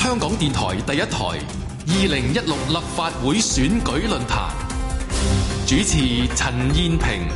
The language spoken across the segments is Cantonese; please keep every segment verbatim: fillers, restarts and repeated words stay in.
香港電台第一台二零一六立法會選舉論壇，主持陳燕萍。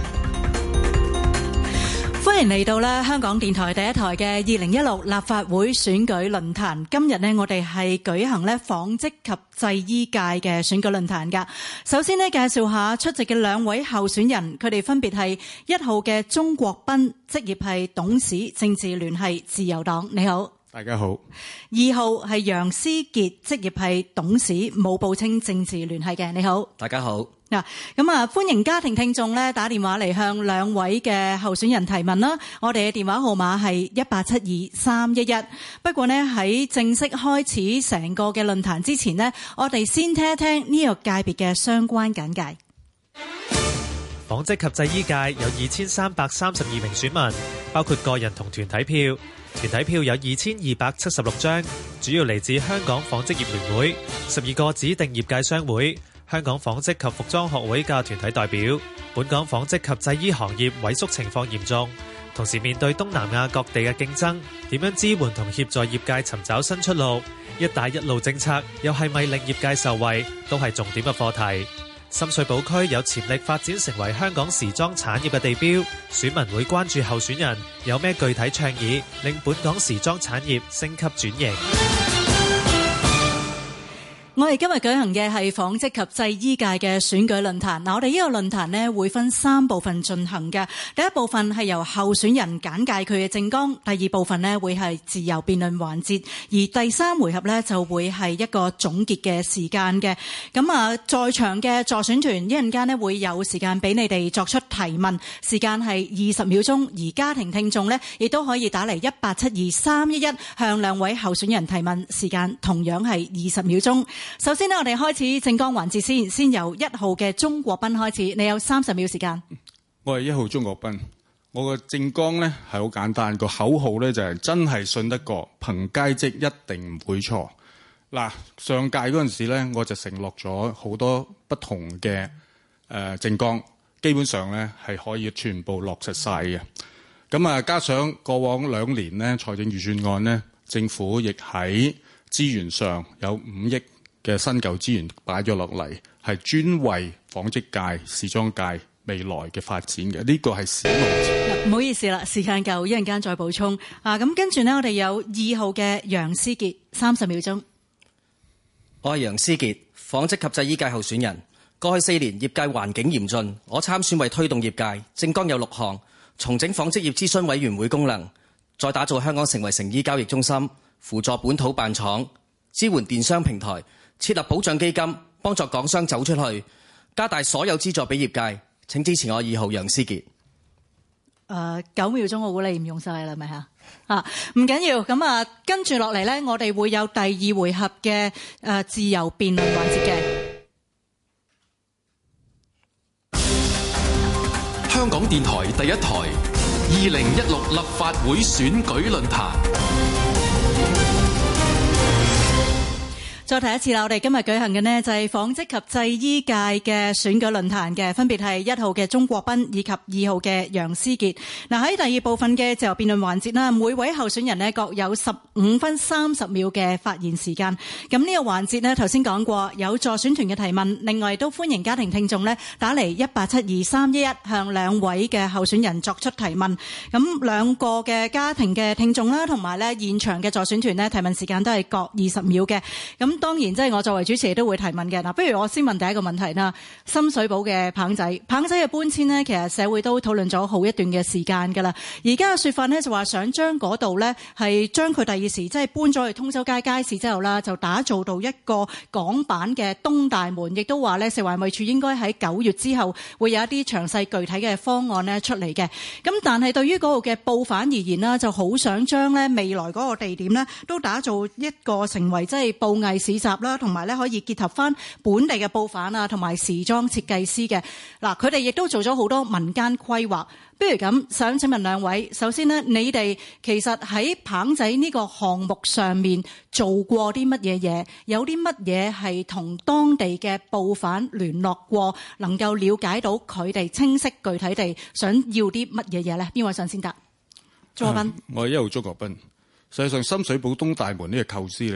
歡迎嚟到咧香港電台第一台嘅二零一六立法會選舉論壇。今日呢，我哋係舉行咧紡織及製衣界嘅選舉論壇噶。首先呢，介紹下出席嘅兩位候選人，佢哋分別係一號嘅鍾國斌，職業係董事，政治聯繫自由黨。你好。 大家好。 二號係楊思傑，職業係董事，冇報稱政治聯繫嘅。你好。 大家好。 嗱，咁啊，歡迎家庭聽眾咧打電話嚟向兩位嘅候選人提問啦。我哋嘅電話號碼係一八七二三一一。不過呢，喺正式開始成個嘅論壇之前呢，我哋先聽一聽呢個界別嘅相關簡介。 紡織及製衣界有二千三百三十二名選民，包括個人同團體票。團體票有二千二百七十六張，主要嚟自香港紡織業聯會、十二個指定業界商會、香港紡織及服裝學會嘅團體代表。本港紡織及製衣行業萎縮情況嚴重，同時面對東南亞各地嘅競爭，點樣支援同協助業界尋找新出路？一帶一路政策又係咪令業界受惠，都係重點嘅課題。深水埗區有潛力發展成為香港時裝產業嘅地標，選民會關注候選人有咩具體倡議，令本港時裝產業升級轉型。 我哋今日舉行嘅係紡織及製衣界嘅選舉論壇。嗱，我哋呢個論壇呢會分三部分進行嘅。第一部分係由候選人簡介佢嘅政綱，第二部分呢會係自由辯論環節，而第三回合呢就會係一個總結嘅時間嘅。咁啊，在場嘅助選團一陣間呢會有時間俾你哋作出提問，時間係二十秒鐘，而家庭聽眾呢亦都可以打嚟一八七二三一一向兩位候選人提問，時間同樣係二十秒鐘。首先呢，我哋開始政綱環節先，先由一號嘅鍾國斌開始。你有三十秒時間。 我係一號鍾國斌，我個政綱呢係好簡單，個口號呢就係真係信得過，憑佳績一定唔會錯。嗱，上屆嗰陣時呢，我就承諾咗好多不同嘅誒政綱，基本上呢係可以全部落實晒嘅。咁啊，加上過往兩年呢財政預算案呢，政府亦喺資源上有五億嘅新舊資源擺咗落嚟，係專為紡織界、時裝界未來嘅發展嘅。呢個係史無前。 唔好意思啦，時間夠，一陣間再補充。啊，咁跟住呢，我哋有二號嘅楊思傑，三十秒鐘。 我係楊思傑，紡織及製衣界候選人。過去四年業界環境嚴峻，我參選為推動業界，政綱有六項：重整紡織業諮詢委員會功能，再打造香港成為成衣交易中心，輔助本土辦廠，支援電商平台，設立保障基金，幫助港商走出去，加大所有資助俾業界。請支持我二號楊思傑。 誒，九秒鐘我估你唔用晒啦，係咪嚇？啊，唔緊要。咁啊，跟住落嚟呢，我哋會有第二回合嘅誒自由辯論環節嘅。 香港電台第一台二零一六立法會選舉論壇。 再提一次啦，我哋今日舉行嘅呢就係紡織及製衣界嘅選舉論壇嘅，分別係一號嘅鍾國斌以及二號嘅楊思傑。嗱，喺第二部分嘅自由辯論環節啦，每位候選人呢各有十五分三十秒嘅發言時間。咁呢個環節呢，頭先講過有助選團嘅提問，另外都歡迎家庭聽眾呢打嚟一八七二三一一向兩位嘅候選人作出提問。咁兩個嘅家庭嘅聽眾啦，同埋呢現場嘅助選團呢，提問時間都係各二十秒嘅。咁當然，即係我作為主持都會提問嘅。嗱，不如我先問第一個問題啦。深水埗嘅棚仔，棚仔嘅搬遷呢，其實社會都討論咗好一段嘅時間㗎啦。而家嘅説法呢，就話想將嗰度呢，係將佢第二時即係搬咗去通州街街市之後啦，就打造到一個港版嘅東大門。亦都話呢，食環衞署應該喺九月之後會有一啲詳細具體嘅方案呢出嚟嘅。咁但係對於嗰度嘅報販而言啦，就好想將呢未來嗰個地點呢，都打造一個成為即係布藝市集啦，同埋咧可以結合翻本地嘅布販啊，同埋時裝設計師嘅。嗱，佢哋亦都做咗好多民間規劃。不如咁，想請問兩位，首先呢，你哋其實喺棚仔呢個項目上面做過啲乜嘢嘢？有啲乜嘢係同當地嘅布販聯絡過，能夠了解到佢哋清晰具體地想要啲乜嘢嘢咧？邊位想先答？鍾國斌。 我係一號鍾國斌。實際上，深水埗東大門呢個構思咧，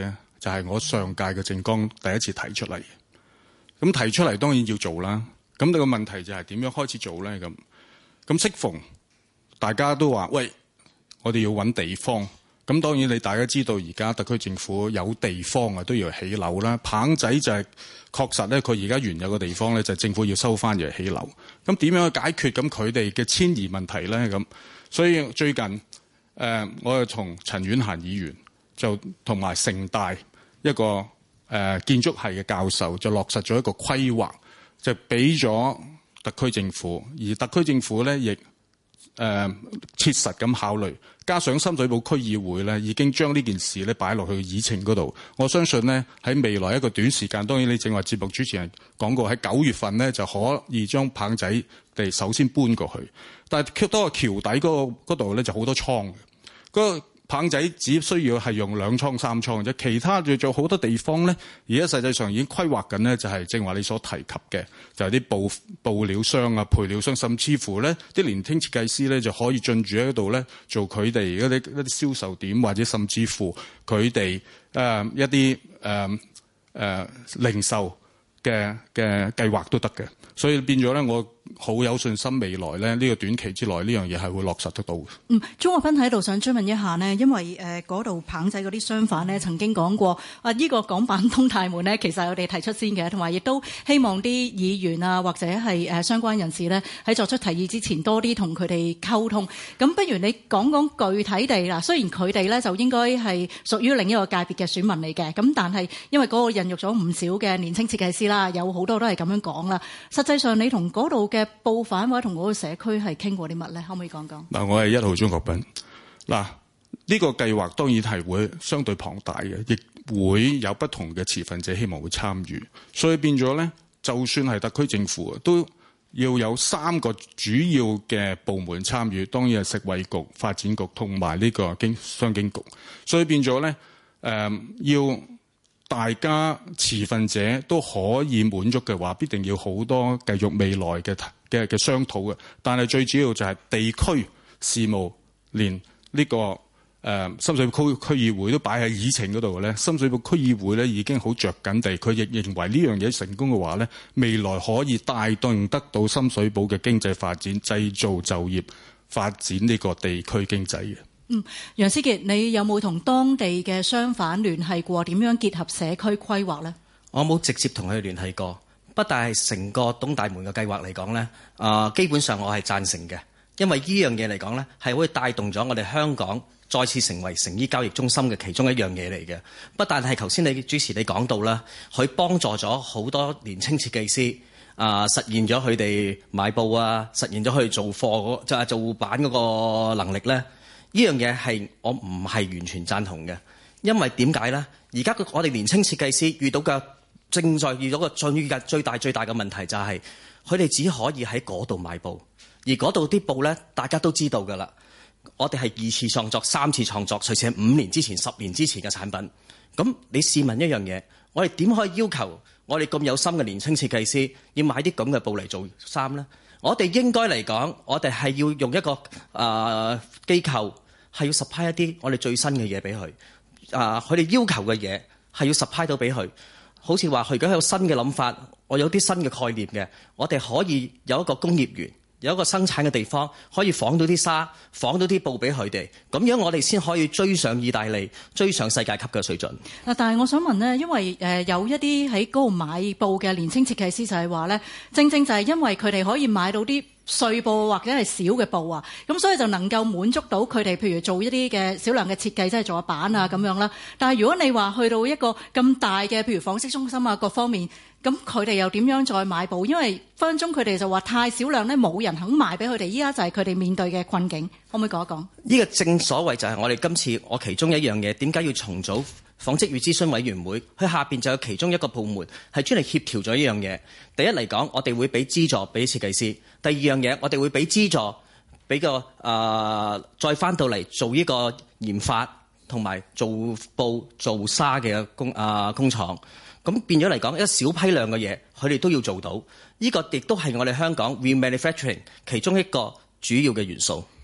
就係我上屆嘅政綱第一次提出嚟。咁提出嚟當然要做啦。咁你個問題就係點樣開始做咧？咁咁適逢大家都話喂，我哋要揾地方。咁當然你大家知道而家特區政府有地方啊，都要起樓啦。棚仔就係確實咧，佢而家原有嘅地方咧，就係政府要收翻嚟起樓。咁點樣去解決咁佢哋嘅遷移問題咧？咁所以最近誒、呃，我又同陳婉嫻議員就同埋城大一個誒、呃、建築系嘅教授就落實咗一個規劃，就俾咗特區政府，而特區政府咧亦誒切實咁考慮。加上深水埗區議會咧，已經將呢件事咧擺落去議程嗰度。我相信呢，喺未來一個短時間，當然你正話節目主持人講過，喺九月份呢就可以將棚仔地首先搬過去。但係多個橋底嗰個嗰度咧就好多倉嘅，嗰個棚仔只需要係用兩倉三倉啫，其他仲有好多地方咧，而家實際上已經規劃緊呢，就係正話你所提及嘅，就係啲布布料商啊、配料商，甚至乎咧啲年輕設計師咧就可以進駐喺度咧做佢哋一啲一啲銷售點，或者甚至乎佢哋誒一啲誒誒零售嘅嘅計劃都得嘅。所以變咗咧，我好有信心未來咧呢、呢個短期之內呢樣嘢係會落實得到嘅。 嗯，鍾國斌喺度想追問一下呢，因為誒嗰度棚仔嗰啲商販呢曾經講過啊，呢、呢個港版東大門呢其實係我哋提出先嘅，同埋亦都希望啲議員啊或者係誒相關人士呢喺作出提議之前多啲同佢哋溝通。咁不如你講講具體地啦，雖然佢哋呢就應該係屬於另一個界別嘅選民嚟嘅，咁但係因為嗰個孕育咗唔少嘅年輕設計師啦，有好多都係咁樣講啦。實際上你同嗰度嘅報販或者同嗰個社區係傾過啲乜咧？可唔可以講講？嗱， 我係一號鍾國斌。嗱，呢個計劃當然係會相對龐大嘅，亦會有不同嘅持份者希望會參與，所以變咗咧，就算係特區政府都要有三個主要嘅部門參與，當然係食衛局、發展局同埋呢個經商經局，所以變咗咧，誒、呃、要。大家持份者都可以滿足嘅話，必定要好多繼續未來嘅嘅嘅商討嘅。但係最主要就係地區事務，連呢、這個誒、呃、深水埗區區議會都擺喺議程嗰度嘅咧。深水埗區議會咧已經好着緊地，佢亦認為呢樣嘢成功嘅話咧，未來可以帶動得到深水埗嘅經濟發展、製造就業、發展呢個地區經濟嘅。 嗯，楊思傑，你有冇同當地嘅商販聯繫過？點樣結合社區規劃呢？ 我冇直接同佢哋聯繫過，不但係成個東大門嘅計劃嚟講呢，啊、呃，基本上我係贊成嘅，因為呢樣嘢嚟講呢，係會帶動咗我哋香港再次成為成衣交易中心嘅其中一樣嘢嚟嘅。不但係頭先你主持你講到啦，佢幫助咗好多年輕設計師啊、呃，實現咗佢哋買布啊，實現咗佢哋做貨就係做版嗰個能力呢。呢樣嘢係我唔係完全贊同嘅，因為點解呢？而家我哋年輕設計師遇到嘅正在遇到嘅最最大最大嘅問題就係佢哋只可以喺嗰度買布，而嗰度啲布呢，大家都知道㗎啦。我哋係二次創作、三次創作，隨時係五年之前、十年之前嘅產品。咁你試問一樣嘢，我哋點可以要求我哋咁有心嘅年輕設計師要買啲咁嘅布嚟做衫呢？我哋應該嚟講，我哋係要用一個啊機構係要 supply 一啲我哋最新嘅嘢俾佢啊，佢哋要求嘅嘢係要 supply 到俾佢。好似話佢而家有新嘅諗法，我有啲新嘅概念嘅，我哋可以有一個工業園，有一個生產嘅地方，可以紡到啲紗、紡到啲布俾佢哋，咁樣我哋先可以追上意大利，追上世界級嘅水準。 嗱，但係我想問呢，因為誒有一啲喺嗰度買布嘅年輕設計師就係話呢，正正就係因為佢哋可以買到啲碎布或者係小嘅布啊，咁所以就能夠滿足到佢哋，譬如做一啲嘅少量嘅設計，即係做下版啊咁樣啦。但係如果你話去到一個咁大嘅，譬如紡織中心啊各方面，咁佢哋又點樣再買布？因為分分鐘佢哋就話太少量咧，冇人肯賣俾佢哋。依家就係佢哋面對嘅困境，可唔可以講一講？呢個正所謂就係我哋今次我其中一樣嘢，點解要重組紡織與諮詢委員會？佢下邊就有其中一個部門係專嚟協調咗呢樣嘢。第一嚟講，我哋會俾資助俾設計師；第二樣嘢，我哋會俾資助俾個啊、呃，再翻到嚟做呢個研發同埋做布做紗嘅工啊、呃、工廠。咁變咗嚟講，一小批量嘅嘢，佢哋都要做到。呢、這個亦都係我哋香港 remanufacturing 其中一個主要嘅元素。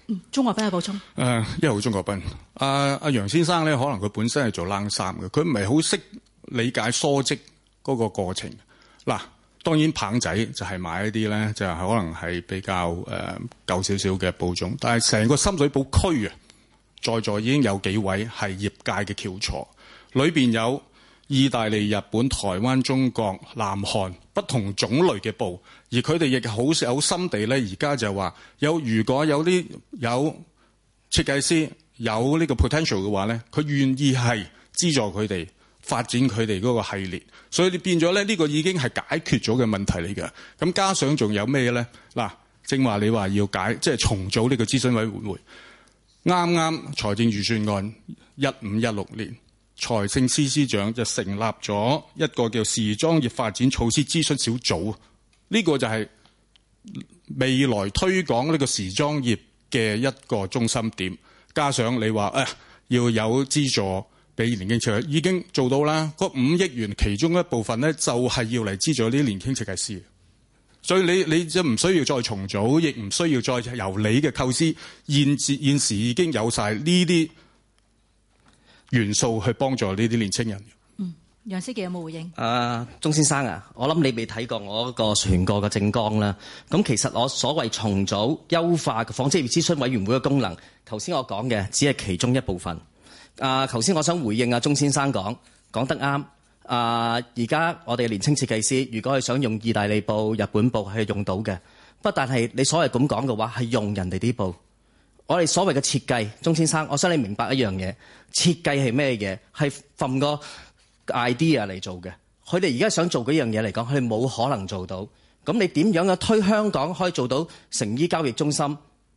嗯，鍾國斌有補充。 誒，一號鍾國斌，阿阿楊先生咧，可能佢本身係做冷衫嘅，佢唔係好識理解梳織嗰個過程。嗱，當然棒仔就係買一啲咧，就係可能係比較誒舊少少嘅布種，但係成個深水埗區啊，在座已經有幾位係業界嘅翹楚，裏邊有意大利、日本、台灣、中國、南韓不同種類嘅布，而佢哋亦好有心地咧。而家就話有，如果有啲有設計師有呢個 potential 嘅話咧，佢願意係資助佢哋發展佢哋嗰個系列。所以你變咗咧，呢個已經係解決咗嘅問題嚟嘅。咁加上仲有咩咧？嗱，正話你話要解即係重組呢個諮詢委員會，啱啱財政預算案一五一六年。財政司司長就成立咗一個叫時裝業發展措施諮詢小組，呢個就係未來推廣呢個時裝業嘅一個中心點。加上你話誒要有資助俾年輕設計師，已經做到啦。嗰五億元其中一部分咧，就係要嚟資助呢啲年輕設計師。所以你你就唔需要再重組，亦唔需要再由你嘅構思，現時現時已經有晒呢啲元素去幫助呢啲年青人。 嗯，楊思傑有冇回應？ 啊，鍾先生啊，我諗你未睇過我嗰個全個嘅政綱啦。咁其實我所謂重組優化嘅紡織業諮詢委員會嘅功能，頭先我講嘅只係其中一部分。啊，頭先我想回應啊，鍾先生講講得啱。啊，而家我哋嘅年輕設計師，如果係想用意大利布、日本布係用到嘅，不但係你所謂咁講嘅話係用人哋啲布。我哋所謂嘅設計，鍾先生，我想你明白一樣嘢，設計係咩嘢？係from個 idea 嚟做嘅。佢哋而家想做嗰樣嘢嚟講，佢哋冇可能做到。咁你點樣嘅推香港可以做到成衣交易中心？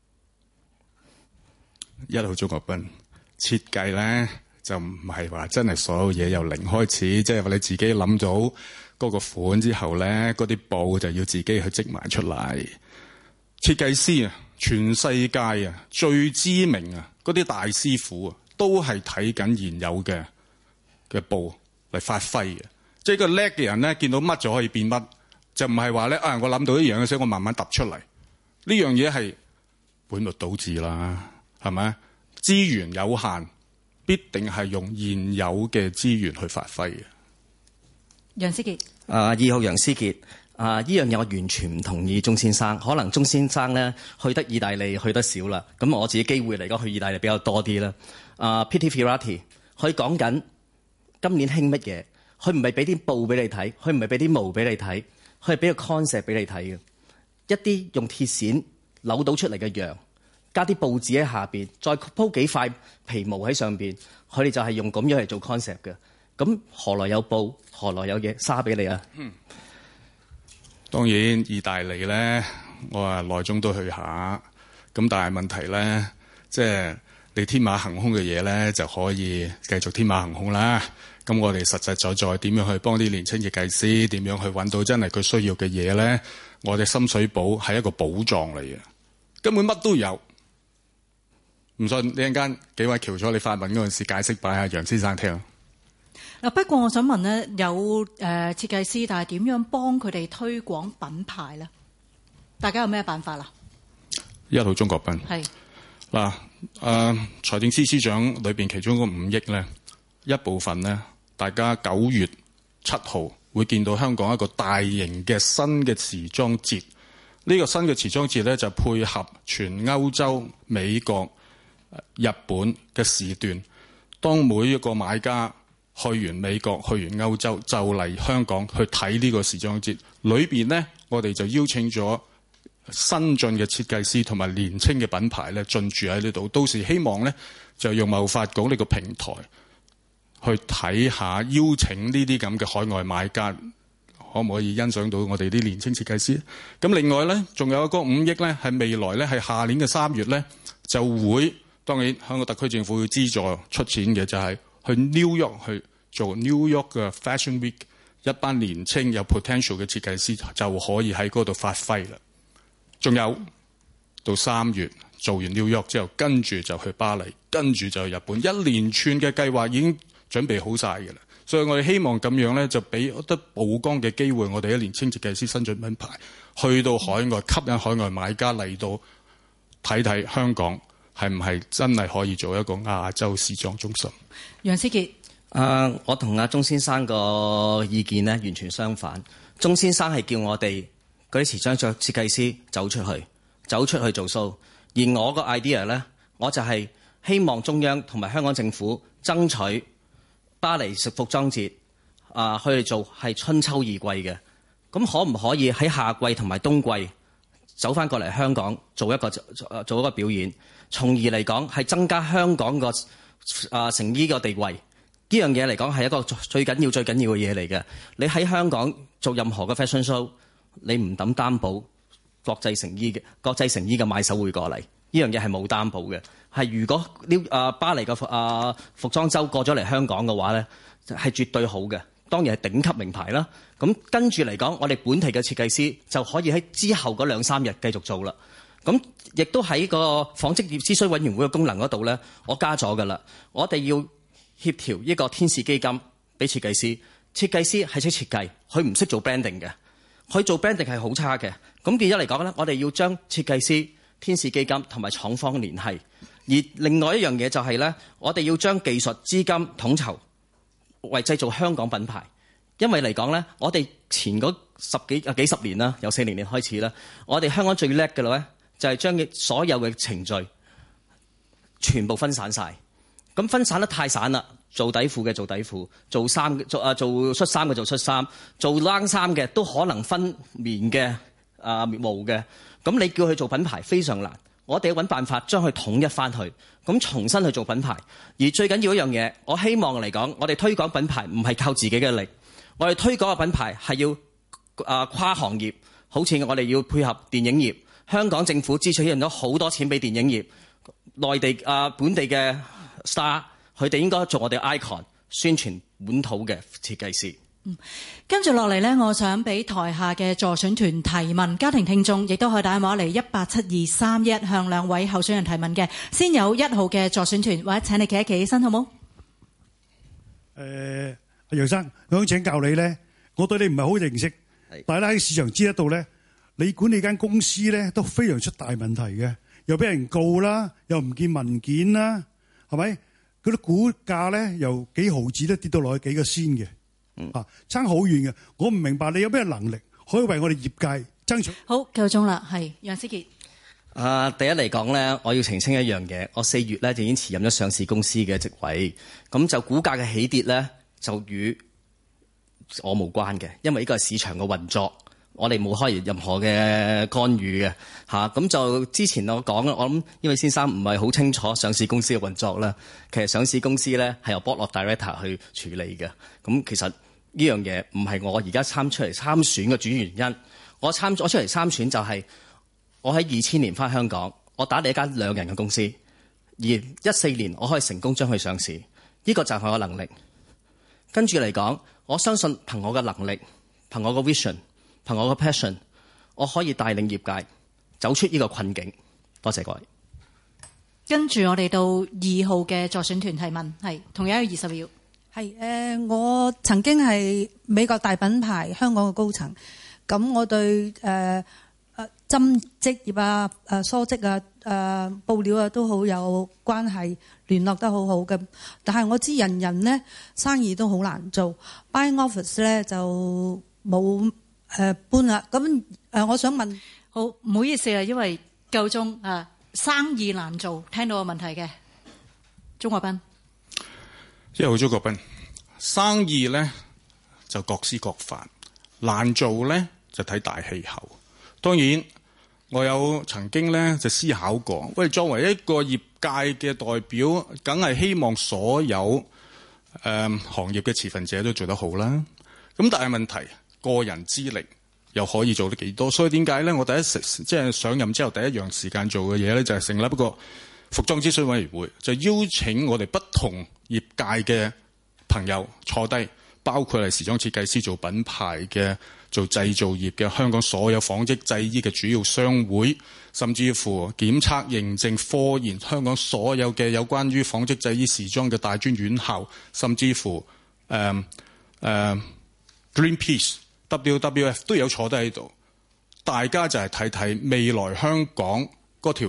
一號鍾國斌，設計咧就唔係話真係所有嘢由零開始，即係話你自己諗到嗰個款之後咧，嗰啲布就要自己去織埋出嚟。設計師啊！全世界啊，最知名啊，嗰啲大師傅啊，都係睇緊現有嘅嘅布嚟發揮嘅。即係個叻嘅人咧，見到乜就可以變乜，就唔係話咧啊！我諗到一樣嘅時候，我慢慢揼出嚟。呢樣嘢係本末倒置啦，係咪？資源有限，必定係用現有嘅資源去發揮嘅。 楊思傑， 啊，二號楊思傑。啊！呢樣嘢我完全唔同意鍾先生。可能鍾先生咧去得意大利去得少啦，咁我自己機會嚟講去意大利比較多啲啦。啊 Pitti Ferrati 佢講緊今年興乜嘢？佢唔係俾啲布俾你睇，佢唔係俾啲毛俾你睇，佢係俾個 concept 俾你睇嘅。一啲用鐵線扭到出嚟嘅羊，加啲報紙喺下邊，再鋪幾塊皮毛喺上邊，佢哋就係用咁樣嚟做 concept 嘅。咁何來有布？何來有嘢紗俾你啊？嗯當然，意大利咧，我話內中都去下，咁但係問題咧，即係你天馬行空嘅嘢咧，就可以繼續天馬行空啦。咁我哋實實在在點樣去幫啲年輕設計師，點樣去揾到真係佢需要嘅嘢咧？我哋深水埗係一個寶藏嚟嘅，根本乜都有。唔信，你陣間幾位翹楚你發問嗰陣時解釋，擺下楊先生聽。 嗱，不過我想問咧，有誒設計師，但係點樣幫佢哋推廣品牌咧？大家有咩辦法啦？ 一號鍾國斌係嗱，誒財政司司長裏邊其中嗰五億咧，一部分咧，大家九月七號會見到香港一個大型嘅新嘅時裝節。呢個新嘅時裝節咧就配合全歐洲、美國、日本嘅時段，當每一個買家去完美國、去完歐洲，就嚟香港去睇呢個時裝節。裏邊呢，我哋就邀請咗新進嘅設計師同埋年青嘅品牌咧進駐喺呢度。到時希望呢，就用貿發局呢個平台去睇下，邀請呢啲咁嘅海外買家，可唔可以欣賞到我哋啲年青設計師？咁另外呢，仲有一個五億呢，係未來呢，係下年嘅三月呢，就會，當然香港特區政府會資助出錢嘅，就係、是。去 New York 去做 New York 嘅 Fashion Week， 一班年青有 potential 嘅設計師就可以喺嗰度發揮啦。仲有到三月做完 New York 之後，跟住就去巴黎，跟住就去日本，一連串嘅計劃已經準備好晒㗎啦。所以我哋希望咁樣咧，就俾得曝光嘅機會，我哋啲年青設計師新進品牌去到海外，吸引海外買家嚟到睇睇香港係唔係真係可以做一個亞洲時裝中心。 楊思傑， 啊、uh, 我同阿鐘先生個意見咧完全相反。鐘先生係叫我哋嗰啲時裝設計師走出去，走出去做 show， 而我個 idea 咧，我就係希望中央同埋香港政府爭取巴黎服裝節啊，去做係春秋二季嘅。咁可唔可以喺夏季同埋冬季走翻過嚟香港做一個做一個表演，從而嚟講係增加香港個啊成衣個地位。呢樣嘢嚟講係一個最緊要最緊要嘅嘢嚟嘅。你喺香港做任何嘅 fashion show， 你唔抌擔保國際成衣嘅國際成衣嘅買手會過嚟，呢樣嘢係冇擔保嘅。係如果呢啊巴黎嘅啊服裝周過咗嚟香港嘅話咧，係絕對好嘅。當然係頂級名牌啦。咁跟住嚟講，我哋本地嘅設計師就可以喺之後嗰兩三日繼續做啦。咁亦都喺個紡織業諮詢委員會嘅功能嗰度咧，我加咗㗎啦。我哋要協調一個天使基金俾設計師，設計師係識設計，佢唔識做 branding 嘅，佢做 branding 係好差嘅。咁變咗嚟講咧，我哋要將設計師、天使基金同埋廠方聯繫。而另外一樣嘢就係咧，我哋要將技術資金統籌為製造香港品牌。因為嚟講咧，我哋前嗰十幾啊幾十年啦，由四零年開始啦，我哋香港最叻嘅咧就係將所有嘅程序全部分散晒。咁分散得太散啦，做底褲嘅做底褲，做衫做啊做恤衫嘅做恤衫，做冷衫嘅都可能分棉嘅啊毛嘅。咁你叫佢做品牌非常難，我哋要揾辦法將佢統一翻去，咁重新去做品牌。而最緊要一樣嘢，我希望嚟講，我哋推廣品牌唔係靠自己嘅力，我哋推廣嘅品牌係要啊跨行業，好似我哋要配合電影業，香港政府支取咗好多錢俾電影業，內地啊本地嘅star， 佢哋應該做我哋 icon， 宣傳本土嘅設計師。 嗯，跟住落嚟呢，我想俾台下嘅助選團提問，家庭聽眾亦都可以打電話嚟一八七二三一向兩位候選人提問嘅。先有一號嘅助選團，或者請你企一企起身，好冇？誒、 呃，阿楊生，我想請教你咧，我對你唔係好認識，但係咧喺市場知得到咧，你管理間公司咧都非常出大問題嘅，又俾人告啦，又唔見文件啦。係咪？嗰啲股價咧由幾毫子都跌到落去幾個仙嘅，嗯、啊，差好遠嘅。我唔明白你有咩能力可以為我哋業界爭取？ 好，夠鐘啦，係楊思傑。 啊，第一嚟講咧，我要澄清一樣嘢，我四月咧就已經辭任咗上市公司嘅職位，咁就股價嘅起跌咧就與我無關嘅，因為呢個係市場嘅運作。我哋冇開任何嘅干預嘅嚇，咁就之前我講啦，我諗因為先生唔係好清楚上市公司嘅運作啦。其實上市公司咧係由 board of director 去處理嘅。咁其實呢樣嘢唔係我而家參出嚟參選嘅主要原因。我參我出嚟參選就係我喺二千年返香港，我打理一間兩人嘅公司，而一四年我可以成功將佢上市，呢、這個就係我能力。跟住嚟講，我相信憑我嘅能力，憑我嘅 vision。憑我個 passion， 我可以帶領業界走出呢個困境。多謝各位。 跟住我哋到二號嘅助選團提問，係同樣有二十秒。 係誒、呃，我曾經係美國大品牌香港嘅高層，咁我對誒誒針織業啊、誒梳織啊、誒、呃、布料啊都好有關係，聯絡得好好嘅。但係我知人人呢生意都好難做 ，buying office 咧就冇。誒、呃、搬啦，咁誒、呃，我想問， 好唔好意思啊，因為夠鐘啊，生意難做，聽到個問題嘅，鍾國斌， 一號鍾國斌，生意咧就各施各法，難做咧就睇大氣候。當然，我有曾經咧就思考過，喂，作為一個業界嘅代表，梗係希望所有誒、呃、行業嘅持份者都做得好啦。咁但係問題。個人之力又可以做得幾多？所以點解咧？我第一時即係上任之後第一樣時間做嘅嘢咧，就係成立一個服裝諮詢委員會，就邀請我哋不同業界嘅朋友坐低，包括係時裝設計師、做品牌嘅、做製造業嘅、香港所有紡織製衣嘅主要商會，甚至乎檢測認證、科研，香港所有嘅有關於紡織製衣時裝嘅大專院校，甚至乎誒誒 Greenpeace。W W F 都有坐低喺度，大家就係睇睇未來香港嗰條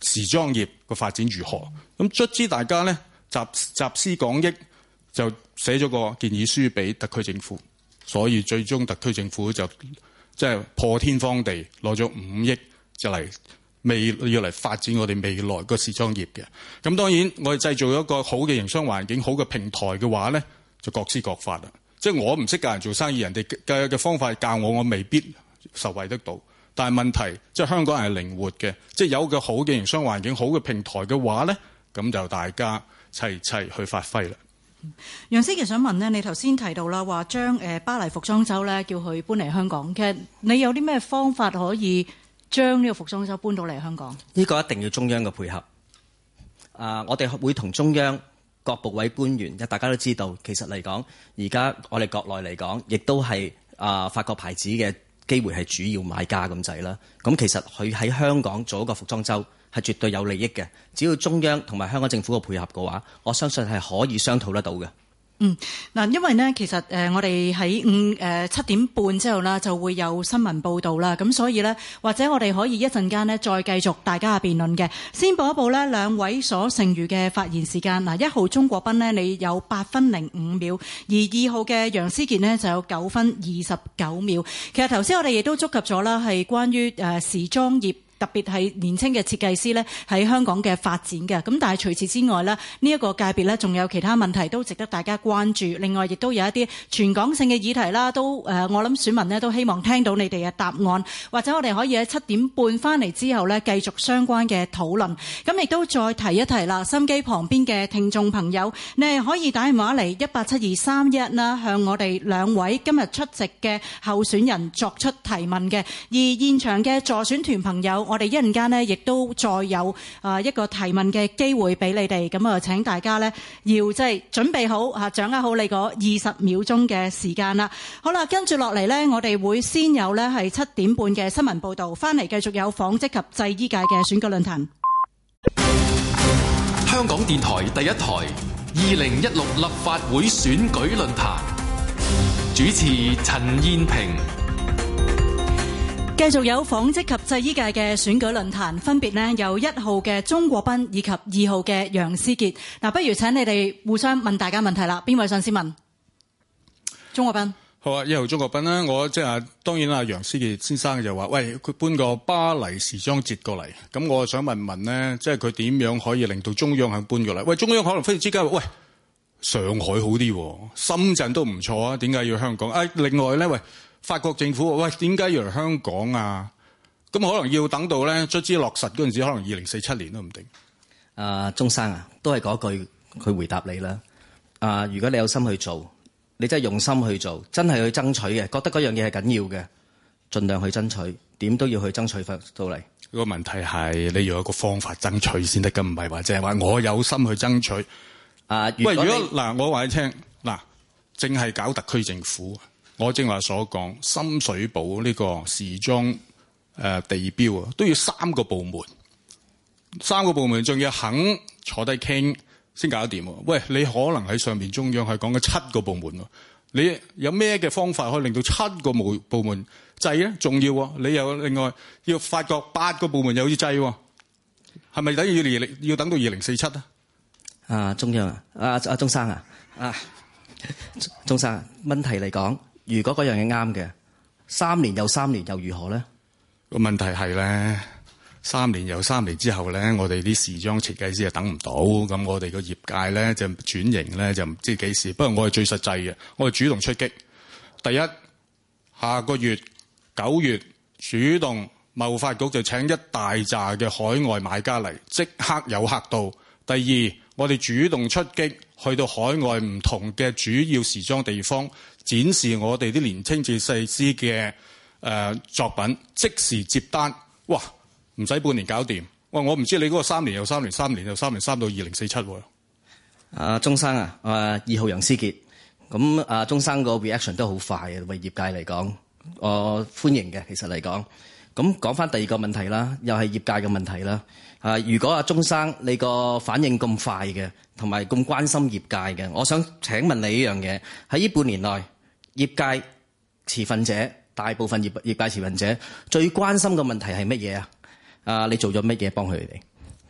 時裝業個發展如何。咁卒之大家咧集集思廣益，就寫咗個建議書俾特區政府，所以最終特區政府就即係破天荒地攞咗五億就嚟未要嚟發展我哋未來個時裝業嘅。咁當然我哋製造一個好嘅營商環境、好嘅平台嘅話咧，就各施各法啦。即係我唔識教人做生意，人哋嘅嘅方法教我，我未必受惠得到。但係問題即係香港人係靈活嘅，即係有個好嘅營商環境、好嘅平台嘅話咧，咁就大家齊齊去發揮啦。 楊思傑想問呢，你頭先提到啦，話將誒巴黎服裝周咧叫佢搬嚟香港，其實你有啲咩方法可以將呢個服裝周搬到嚟香港？ 呢個一定要中央嘅配合。啊，我哋會同中央各部委官員，大家都知道，其實嚟講，而家我哋國內嚟講，亦都係啊法國牌子嘅機會係主要買家咁滯啦。咁其實佢喺香港做一個服裝周係絕對有利益嘅。只要中央同埋香港政府嘅配合嘅話，我相信係可以商討得到嘅。 嗯，嗱，因為呢，其實誒我哋喺五誒七點半之後啦，就會有新聞報導啦，咁所以呢，或者我哋可以一陣間呢再繼續大家嘅辯論嘅。先報一報呢兩位所剩餘嘅發言時間。嗱，一號鍾國斌呢，你有八分零五秒，而二號嘅楊思傑呢，就有九分二十九秒。其實頭先我哋亦都觸及咗啦，係關於誒時裝業，特別係年輕嘅設計師咧喺香港嘅發展嘅。咁但係除此之外咧，呢一個界別咧仲有其他問題都值得大家關注。另外亦都有一啲全港性嘅議題啦，都誒我諗選民咧都希望聽到你哋嘅答案，或者我哋可以喺七點半翻嚟之後咧繼續相關嘅討論。咁亦都再提一提啦，心機旁邊嘅聽眾朋友，你係可以打電話嚟一八七二三一啦，向我哋兩位今日出席嘅候選人作出提問嘅。而現場嘅助選團朋友，我哋一陣間呢，亦都再有啊一個提問嘅機會俾你哋，咁啊請大家呢，要即係準備好啊，掌握好你嗰二十秒鐘嘅時間啦。好啦，跟住落嚟呢，我哋會先有呢係七點半嘅新聞報導，翻嚟繼續有紡織及製衣界嘅選舉論壇。 香港電台第一台二零一六立法會選舉論壇，主持陳燕萍。 繼續有紡織及製衣界嘅選舉論壇，分別呢有一號嘅鍾國斌以及二號嘅楊思傑。嗱，不如請你哋互相問大家問題啦。邊位想先問？鍾國斌。 好啊，一號鍾國斌啦。我即係當然啦，楊思傑先生就話：喂，佢搬個巴黎時裝節過嚟，咁我想問問呢，即係佢點樣可以令到中央肯搬過嚟？喂，中央可能忽然之間話：喂，上海好啲，深圳都唔錯啊，點解要香港？啊，另外咧，喂。法國政府喂，點解要嚟香港啊？咁可能要等到咧，卒之落實嗰陣時，可能二零四七年都唔定。 啊，鍾生啊，都係嗰句，佢回答你啦。啊，如果你有心去做，你真係用心去做，真係去爭取嘅，覺得嗰樣嘢係緊要嘅，盡量去爭取，點都要去爭取翻到嚟。 個問題係你要有一個方法爭取先得㗎，唔係話淨係話我有心去爭取。 啊， 喂，如果嗱，我話你聽嗱，淨係搞特區政府。我正話所講，深水埗呢個時裝誒、呃、地標啊，都要三個部門，三個部門仲要肯坐低傾先搞得掂。喂，你可能喺上面中央係講緊七個部門喎，你有咩嘅方法可以令到七個部部門制咧？仲要喎，你又另外要發覺八個部門又要制喎，係咪等於要要等到二零四七啊？ 啊，中央啊，啊啊，鍾生啊，啊，鍾生啊，問題嚟講。如果嗰樣嘢啱嘅，三年又三年又如何咧？ 個問題係咧，三年又三年之後咧，我哋啲時裝設計師就等唔到，咁我哋個業界咧就轉型咧就唔知幾時。不過我係最實際嘅，我係主動出擊。第一，下個月九月主動貿發局就請一大紮嘅海外買家嚟，即刻有客到。第二，我哋主動出擊，去到海外唔同嘅主要時裝地方。展示我哋啲年輕設計師嘅誒作品，即時接單，哇！唔使半年搞掂。哇！我唔知你嗰個三年又三年，三年又三年，三到二零四七喎。 啊，鍾生啊，啊二號楊思傑，咁啊鍾生個 reaction 都好快嘅，為業界嚟講，我歡迎嘅。其實嚟講，咁講翻第二個問題啦，又係業界嘅問題啦。啊，如果阿鍾生你個反應咁快嘅，同埋咁關心業界嘅，我想請問你呢樣嘢，喺呢半年內，業界持份者，大部分業業界持份者最關心嘅問題係乜嘢啊？啊，你做咗乜嘢幫佢哋？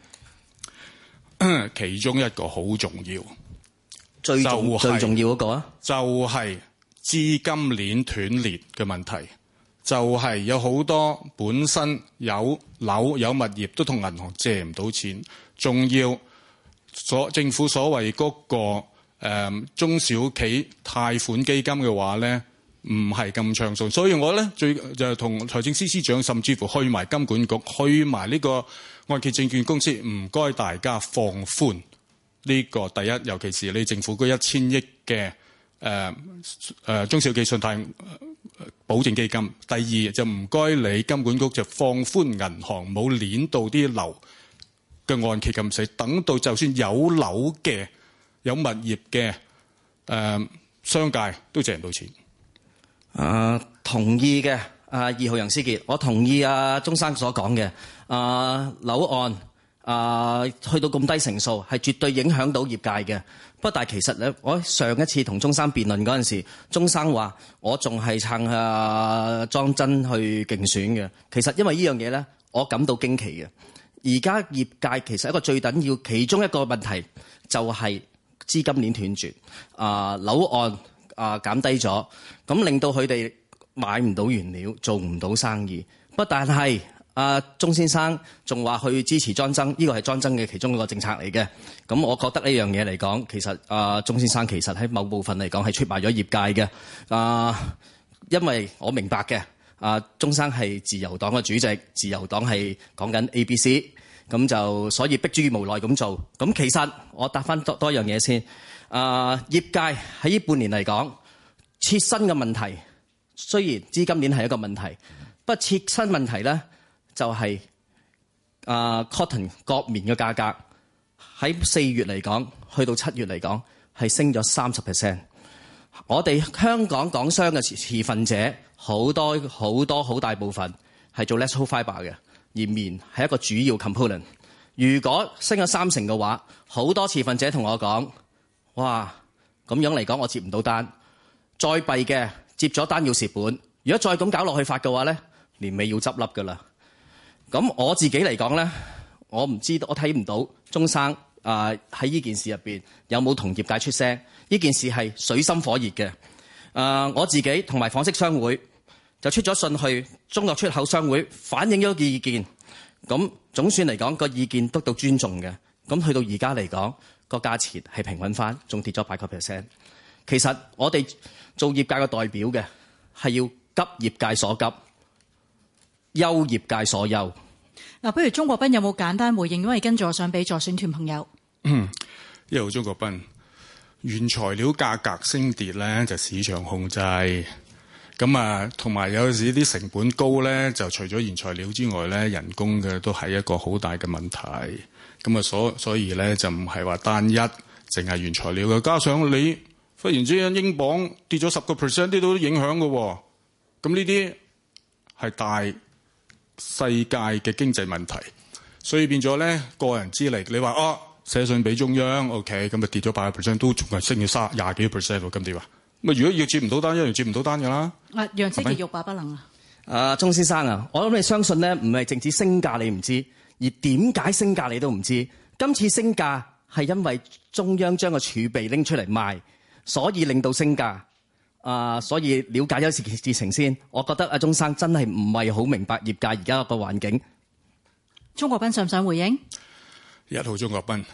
其中一個好重要， 最重、 就係、 最重要嗰個啊， 就係資金鏈斷裂嘅問題。就係、是、有好多本身有樓有物業都同銀行借唔到錢，仲要所政府所謂嗰、那個、呃、中小企貸款基金嘅話咧，唔係咁暢順。所以我咧最就同財政司司長甚至乎去埋金管局，去埋呢個按揭證券公司，唔該大家放寬呢、這個第一，尤其是你政府嗰一千億嘅誒誒中小企信貸保證基金。第二就唔該你金管局就放寬銀行冇攣到啲樓嘅按揭咁死，等到就算有樓嘅有物業嘅誒、呃、商界都借唔到錢。 啊，同意嘅。啊，二號楊思傑，我同意啊鍾生所講嘅。啊，樓按啊去到咁低成數，係絕對影響到業界嘅。不過，但係其實咧，我上一次同鍾生辯論嗰陣時，鍾生話我仲係撐啊莊真去競選嘅。其實因為呢樣嘢咧，我感到驚奇嘅。而家業界其實一個最緊要其中一個問題就係資金鏈斷絕，啊樓按啊減低咗，咁令到佢哋買唔到原料，做唔到生意。不但係阿鍾先生仲話去支持莊增，呢個係莊增嘅其中一個政策嚟嘅。咁我覺得呢樣嘢嚟講，其實阿鍾先生其實喺某部分嚟講係出賣咗業界嘅。啊，因為我明白嘅，阿鍾生係自由黨嘅主席，自由黨係講緊 A B C， 咁就所以逼諸無奈咁做。咁其實我答翻多多樣嘢先。啊，業界喺呢半年嚟講，切身嘅問題。雖然資金鏈係一個問題，不過切身問題咧就係、是、啊、呃、cotton 國棉嘅價格喺四月嚟講，去到七月嚟講係升咗三十 percent。我哋香港港商嘅持份者好多好多好大部分係做 less whole fibre 嘅，而棉係一個主要 component。如果升咗三成嘅話，好多持份者同我講：哇，咁樣嚟講我接唔到單，再弊嘅。接咗單要蝕本，如果再咁搞落去發嘅話咧，年尾要執笠噶啦。咁我自己嚟講咧，我唔知道，我睇唔到鍾生啊喺呢件事入邊有冇同業界出聲。呢件事係水深火熱嘅。啊，我自己同埋紡織商會就出咗信去中國出口商會反映咗個意見。咁總算嚟講個意見得到尊重嘅。咁去到而家嚟講個價錢係平穩翻，仲跌咗八個 percent。其實我哋做業界嘅代表嘅係要急業界所急，憂業界所憂。 嗱，不如鍾國斌有冇簡單回應？因為跟住我想俾助選團朋友。 嗯，一號鍾國斌，原材料價格升跌咧就市場控制，咁啊同埋有時啲成本高咧，就除咗原材料之外咧，人工嘅都係一個好大嘅問題。咁啊所所以咧就唔係話單一，淨係原材料嘅，加上你。忽然之間，英鎊跌咗十個 percent， 啲都影響嘅喎。咁呢啲係大世界嘅經濟問題，所以變咗咧個人之力。你話哦，寫信俾中央 ，OK， 咁就跌咗八個 percent， 都仲係升咗三廿幾個 percent 喎。咁點啊？咁啊，如果要接唔到單，一樣接唔到單㗎啦。啊， 楊思傑欲罷不能啊！ 啊，鍾先生啊，我諗你相信咧，唔係淨止升價你唔知，而點解升價你都唔知。今次升價係因為中央將個儲備拎出嚟賣。所以令到升價，啊、呃，所以了解一事事情先。我覺得阿鍾生真係唔係好明白業界而家個環境。 鍾國斌想唔想回應？ 一號鍾國斌，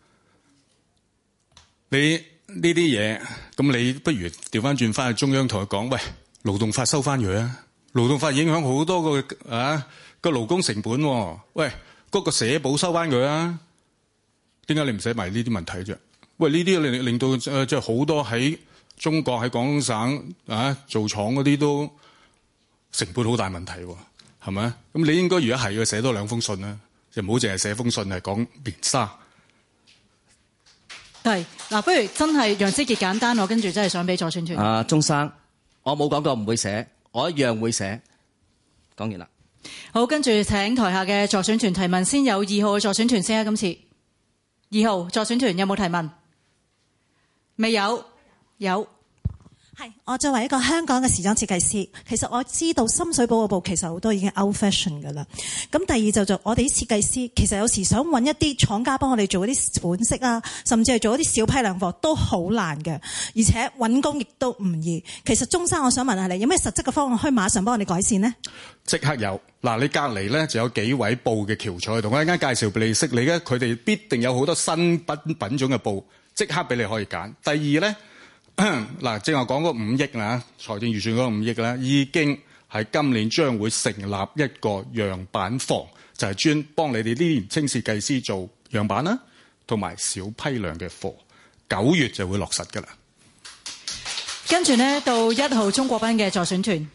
你呢啲嘢，咁你不如調翻轉翻去中央同佢講，喂，勞動法收翻佢啊！勞動法影響好多個啊個勞工成本、啊，喂，嗰、嗰個社保收翻佢啊！點解你唔使埋呢啲問題啫？喂，呢啲令令到誒即係好多喺中國喺廣東省啊做廠嗰啲都成本好大問題喎，係咪？咁你應該如果係要寫多兩封信啦，就唔好淨係寫封信係講棉紗。 係嗱，不如真係楊思傑簡單，我跟住真係想俾助選團。 啊，鍾生，我冇講過唔會寫，我一樣會寫。講完啦。 好，跟住請台下嘅助選團提問，先有二號嘅助選團先啊，今次二號助選團有冇提問？未有，有。 係，我作為一個香港嘅時裝設計師，其實我知道深水埗嗰部其實好多已經 out fashion 㗎啦。咁第二就就我哋啲設計師，其實有時想揾一啲廠家幫我哋做嗰啲款式啊，甚至係做一啲小批量貨都好難嘅，而且揾工亦都唔易。其實鍾生，我想問下你，有咩實質嘅方案可以馬上幫我哋改善呢？即刻有。嗱，你隔離咧就有幾位布嘅翹楚喺度，我一陣間介紹俾你識，你咧佢哋必定有好多新品品種嘅布，即刻俾你可以揀。第二咧。嗱，正話講嗰五億啦，財政預算嗰五億啦，已經係今年將會成立一個樣板房，就係專幫你哋啲年青設計師做樣板啦，同埋小批量嘅貨，九月就會落實㗎啦。 跟住呢，到一號鍾國斌嘅助選團。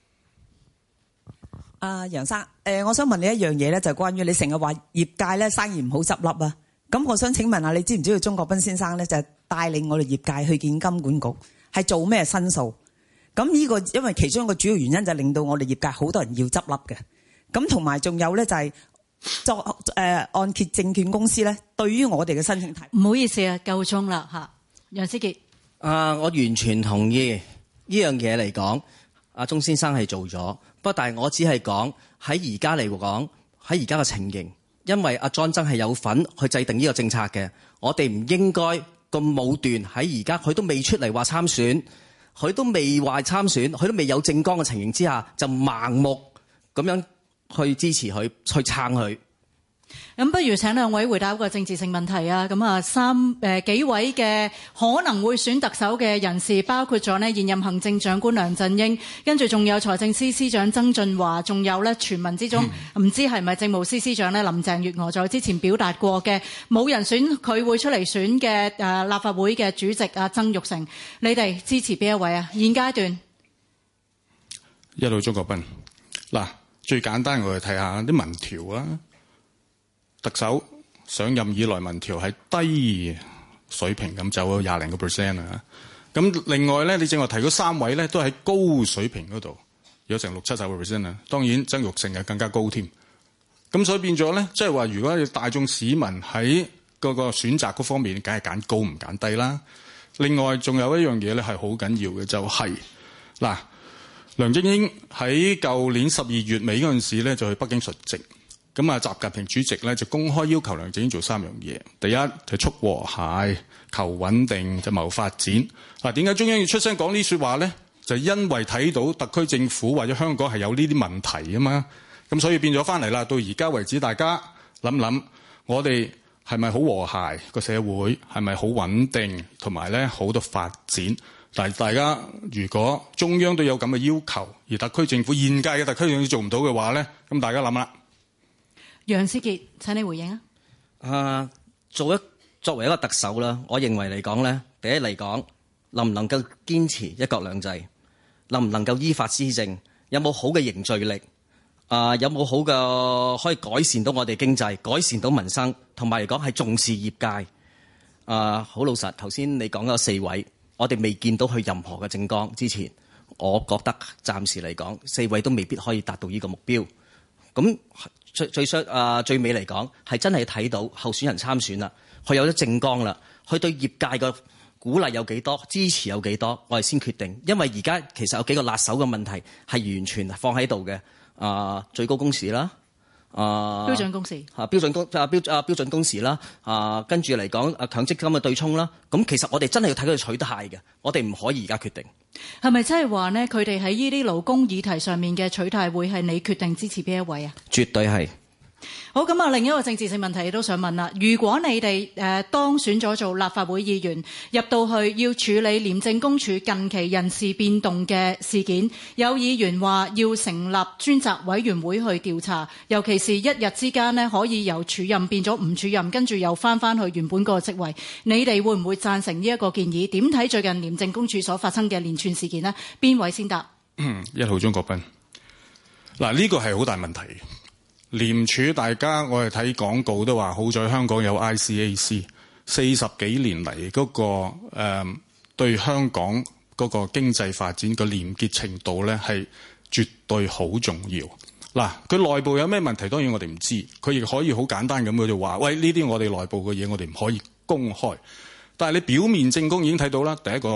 阿楊生，誒，我想問你一樣嘢咧，就係關於你成日話業界咧生意唔好執笠啊。咁我想請問下，你知唔知道鍾國斌先生咧就係帶領我哋業界去見金管局，係做咩申訴？咁呢個因為其中一個主要原因就係令到我哋業界好多人要執笠嘅。咁同埋仲有咧就係作誒按揭證券公司咧，對於我哋嘅申請題， 唔好意思啊，夠鐘啦嚇，楊思傑。 啊，我完全同意呢樣嘢嚟講，阿鍾先生係做咗，不過但係我只係講喺而家嚟講，喺而家嘅情形。因為阿莊真係有份去制定呢個政策嘅，我哋唔應該咁武斷喺而家佢都未出嚟話參選，佢都未話參選，佢都未有政綱嘅情形之下，就盲目咁樣去支持佢，去撐佢。 咁不如請兩位回答一個政治性問題啊！咁啊，三誒幾位嘅可能會選特首嘅人士，包括咗呢現任行政長官梁振英，跟住仲有財政司司長曾俊華，仲有咧傳聞之中唔知係咪政務司司長咧林鄭月娥在之前表達過嘅冇人選佢會出嚟選嘅誒立法會嘅主席啊曾鈺成，你哋支持邊一位啊？現階段一號鍾國斌嗱，最簡單我哋睇下啲民調啊。特首上任以來民調係低水平咁走咗廿零個 percent 啊！咁另外咧，你正話提嗰三位咧，都喺高水平嗰度，有成六七十個 percent 啊！當然曾鈺成係更加高添。咁所以變咗咧，即係話如果你大眾市民喺嗰個選擇嗰方面，梗係揀高唔揀低啦。另外仲有一樣嘢咧係好緊要嘅，就係、是、嗱，梁振英喺舊年十二月尾嗰陣時咧，就去北京述職。咁啊，習近平主席咧就公開要求梁振英做三樣嘢。第一就促和諧、求穩定、就謀發展。嗱，點解中央要出聲講呢說話咧？就因為睇到特區政府或者香港係有呢啲問題啊嘛。咁所以變咗翻嚟啦。到而家為止，大家諗諗，我哋係咪好和諧個社會？係咪好穩定？同埋咧好多發展。但係大家如果中央都有咁嘅要求，而特區政府現屆嘅特區政府做唔到嘅話咧，咁大家諗啦。 楊思傑，請你回應啊！ 啊，做一作為一個特首啦，我認為嚟講咧，第一嚟講，能唔能夠堅持一國兩制，能唔能夠依法施政，有冇好嘅凝聚力，啊，有冇好嘅可以改善到我哋經濟，改善到民生，同埋嚟講係重視業界。啊，好老實，頭先你講咗四位，我哋未見到佢任何嘅政綱之前，我覺得暫時嚟講，四位都未必可以達到呢個目標。咁最最衰啊，最尾嚟講係真係睇到候選人參選啦，佢有咗政綱啦，佢對業界嘅鼓勵有幾多，支持有幾多，我哋先決定。因為而家其實有幾個辣手嘅問題係完全放喺度嘅，啊最高工時啦，啊標準工時啊標準工啊標啊標準工時啦，啊跟住嚟講啊強積金嘅對沖啦，咁其實我哋真係要睇佢取態嘅，我哋唔可以而家決定。 係咪真係話呢？佢哋喺呢啲勞工議題上面嘅取態，會係你決定支持邊一位啊？ 絕對係。 好，咁啊，另一個政治性問題都想問啦。如果你哋誒、呃、當選咗做立法會議員，入到去要處理廉政公署近期人事變動嘅事件，有議員話要成立專責委員會去調查，尤其是一日之間呢，可以由署任變咗唔署任，跟住又翻翻去原本嗰個職位，你哋會唔會贊成呢一個建議？點睇最近廉政公署所發生嘅連串事件呢？邊位先答？ 嗯，一號鍾國斌。嗱，呢個係好大問題。廉署大家我哋睇廣告都話，好在香港有 I C A C， 四十幾年嚟嗰、那個誒、呃、對香港嗰個經濟發展個廉潔程度咧係絕對好重要。嗱，佢內部有咩問題，當然我哋唔知，佢亦可以好簡單咁佢就話，喂，呢啲我哋內部嘅嘢我哋唔可以公開。但係你表面證供已經睇到啦，第一個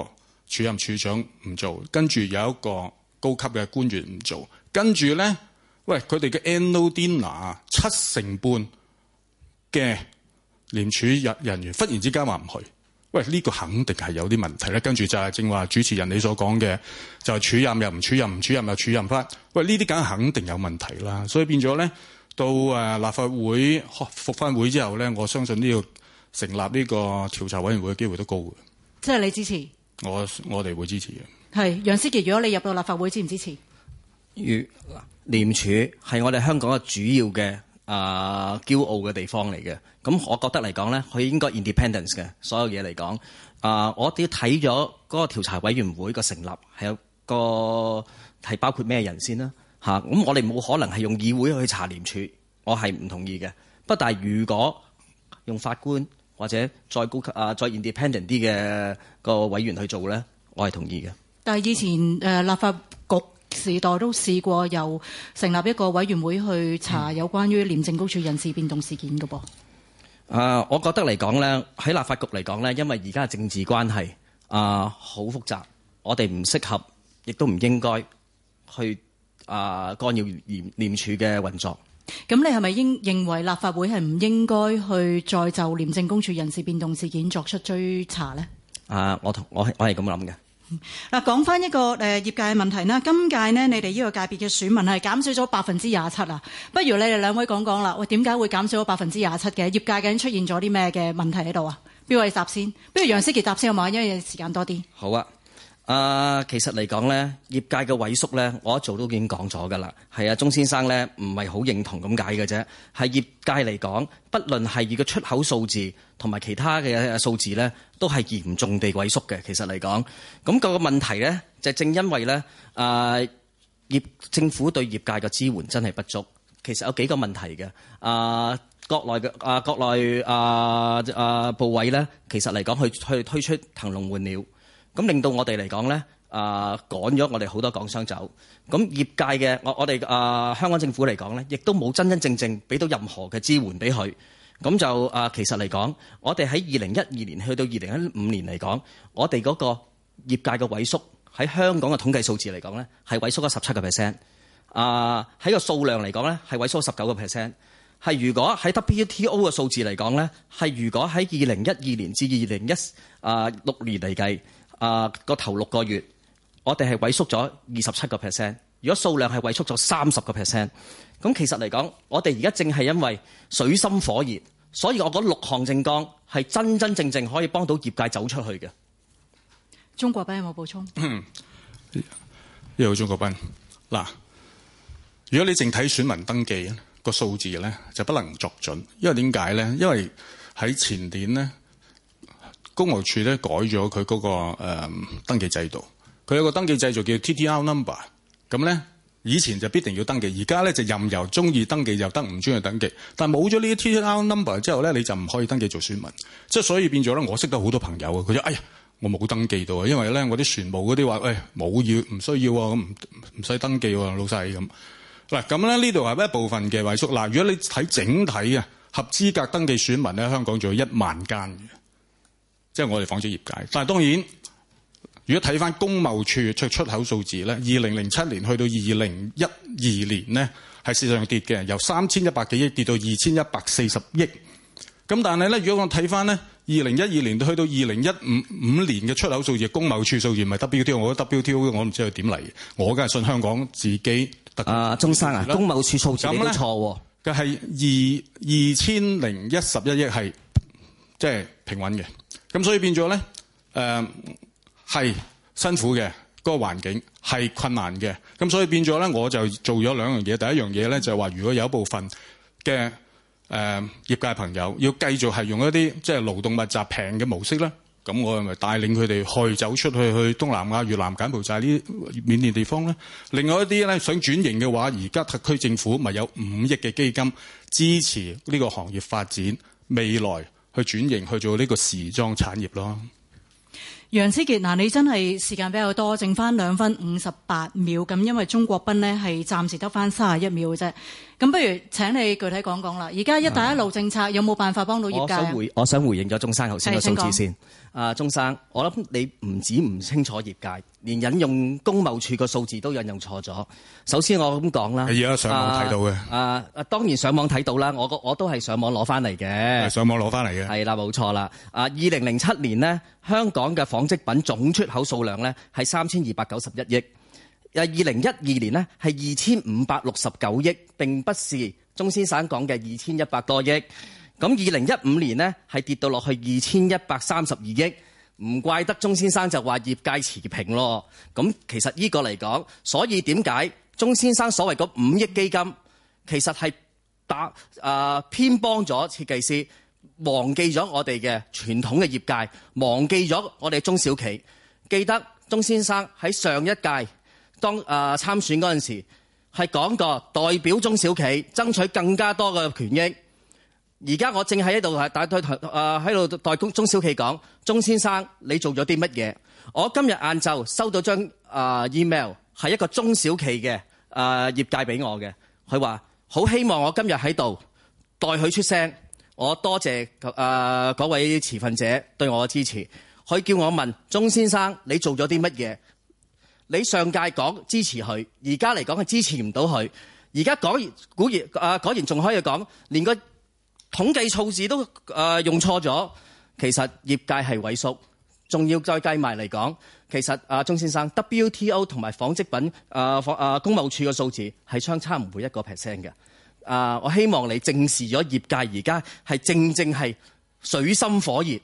署任處長唔做，跟住有一個高級嘅官員唔做，跟住咧，喂佢哋嘅 annual dinner 七成半嘅廉署人人員忽然之間話唔去，喂呢、呢個肯定係有啲問題咧。跟住就係正話主持人你所講嘅，就係、是、署任又唔署任，唔署任又署任翻，喂呢啲梗係肯定有問題啦。所以變咗咧，到誒立法會復翻會之後咧，我相信呢個成立呢個調查委員會嘅機會都高嘅。 即係你支持？我我哋會支持嘅。係楊思傑，如果你入到立法會，支唔支持？ 如廉署係我哋香港嘅主要嘅啊、呃、驕傲嘅地方嚟嘅。咁我覺得嚟講咧，佢應該 independence 嘅所有嘢嚟講。啊、呃，我哋睇咗嗰個調查委員會個成立係有個係包括咩人先啦嚇。咁、啊、我哋冇可能係用議會去查廉署，我係唔同意嘅。不但係如果用法官或者再高級啊再 independent 啲嘅個委員去做咧，我係同意嘅。但係以前誒、呃、立法局時代都試過由成立一個委員會去查有關於廉政公署人事變動事件嘅噃。啊、呃，我覺得嚟講咧，喺立法局嚟講咧，因為而家嘅政治關係啊好複雜，我哋唔適合，亦都唔應該去啊、呃、干擾廉廉署嘅運作。咁你係咪應認為立法會係唔應該去再就廉政公署人事變動事件作出追查咧？啊，我同我係我係咁諗嘅。嗱，講翻一個誒、呃、業界嘅問題啦。今屆呢，你哋呢個界別嘅選民係減少咗百分之廿七啊。不如你哋兩位講講啦。喂，點解會減少咗百分之廿七嘅？業界究竟出現咗啲咩嘅問題喺度啊？邊位答先？不如楊思傑答先好嘛？因為時間多啲。好啊。啊、呃，其實嚟講咧，業界嘅萎縮咧，我一早都已經講咗㗎啦。係啊，鐘先生咧唔係好認同咁解嘅啫。係業界嚟講，不論係以個出口數字同埋其他嘅數字咧，都係嚴重地萎縮嘅。其實嚟講，咁、那個問題咧，就正因為咧，啊、呃、業政府對業界嘅支援真係不足。其實有幾個問題嘅。啊、呃，國內嘅啊、呃，國內啊啊部委咧，其實嚟講去去推出騰籠換鳥。咁令到我哋嚟講咧，啊、呃、趕咗我哋好多港商走。咁業界嘅我我哋啊、呃、香港政府嚟講咧，亦都冇真真正正俾到任何嘅支援俾佢。咁就啊、呃、其實嚟講，我哋喺二零一二年去到二零一五年嚟講，我哋嗰個業界嘅萎縮喺香港嘅統計數字嚟講咧，係萎縮咗十七個 percent。啊喺個數量嚟講咧，係萎縮咗十九個 percent。係如果喺 W T O 嘅數字嚟講咧，係如果喺二零一二年至二零一啊六年嚟計。啊！個、呃、頭六個月，我哋係萎縮咗二十七個 percent。如果數量係萎縮咗三十個 percent，咁其實嚟講，我哋而家正係因為水深火熱，所以我覺得六項政綱係真真正正可以幫到業界走出去嘅。鍾國斌有冇補充？ 一號鍾國斌嗱，如果你淨睇選民登記個數字咧，就不能作準，因為點解咧？因為喺前年咧。公務處咧改咗佢嗰個、呃、登記制度，佢有個登記制度叫 T T R number， 咁咧以前就必定要登記，而家咧就任由中意登記就得，唔中意登記。但係冇咗呢啲 T T R number 之後咧，你就唔可以登記做選民。即係所以變咗咧，我識得好多朋友啊，佢就哎呀我冇登記到啊，因為咧我啲船務嗰啲話，喂冇要唔需要啊，咁唔唔使登記喎，老細咁。嗱咁咧呢度係一部分嘅萎縮。嗱，如果你睇整體啊，合資格登記選民咧，香港仲有一萬間嘅。即係我哋紡織業界，但係當然，如果睇翻工貿處出出口數字咧，二零零七年去到二零一二年呢，係事實上跌嘅，由三千一百幾億跌到二千一百四十億。咁但係咧，如果我睇翻咧，二零一二年去到二零一五五年嘅出口數字，工貿處數字唔係 W T O， 我覺得 W T O 我唔知佢點嚟，我梗係信香港自己特。啊，鐘生啊，工貿處數字你都錯喎。嘅係二二千零一十一億係即係平穩嘅。咁所以變咗咧，誒、呃、係辛苦嘅，嗰、那個環境係困難嘅。咁所以變咗咧，我就做咗兩樣嘢。第一樣嘢咧就係、是、話，如果有一部分嘅誒、呃、業界朋友要繼續係用一啲即係勞動密集平嘅模式咧，咁我咪帶領佢哋去走出去去東南亞、越南、柬埔寨呢啲緬甸地方咧。另外一啲咧想轉型嘅話，而家特區政府咪有五億嘅基金支持呢個行業發展，未來去轉型去做呢個時裝產業咯。 楊思傑，嗱，你真係時間比較多，剩翻兩分五十八秒咁，因為鍾國斌呢係暫時得翻三十一秒嘅啫。 咁不如請你具體講講啦。而家一帶一路政策有冇辦法幫到業界？ 我想回，我想回應咗鍾生頭先嘅數字先。啊，鍾生，我諗你唔止唔清楚業界，連引用工貿處個數字都引用錯咗。首先我咁講啦， 係而家上網睇到嘅。 啊啊，當然上網睇到啦，我我都係上網攞翻嚟嘅。 上網攞翻嚟嘅。係啦，冇錯啦。啊，二零零七年呢，香港嘅紡織品總出口數量呢係三千二百九十一億。二零一二年呢係二千五百六十九億，並不是鍾先生講嘅二千一百多億。咁二零一五年呢係跌到落去二千一百三十二億，唔怪得鍾先生就話業界持平咯。咁其實呢個嚟講，所以點解鍾先生所謂嗰五億基金，其實係打啊偏幫咗設計師，忘記咗我哋嘅傳統嘅業界，忘記咗我哋中小企。記得鍾先生喺上一屆當啊、呃、參選嗰陣時，係講過代表中小企爭取更加多嘅權益。而家我正喺度係代誒喺度代中小企講，鍾先生你做咗啲乜嘢？我今日晏晝收到張啊、呃、email， 係一個中小企嘅誒、呃、業界俾我嘅，佢話好希望我今日喺度代佢出聲。我多謝誒嗰、呃、位持份者對我嘅支持。佢叫我問鍾先生你做咗啲乜嘢？你上屆講支持佢，而家嚟講係支持唔到佢。而家講完果然啊果然仲可以講，連個統計數字都誒、呃、用錯咗。其實業界係萎縮，仲要再計埋嚟講，其實啊鍾先生 W T O 同埋紡織品啊紡啊工貿處嘅數字係相差唔會一個 percent 嘅。啊，我希望你正視咗業界而家係正正係水深火熱。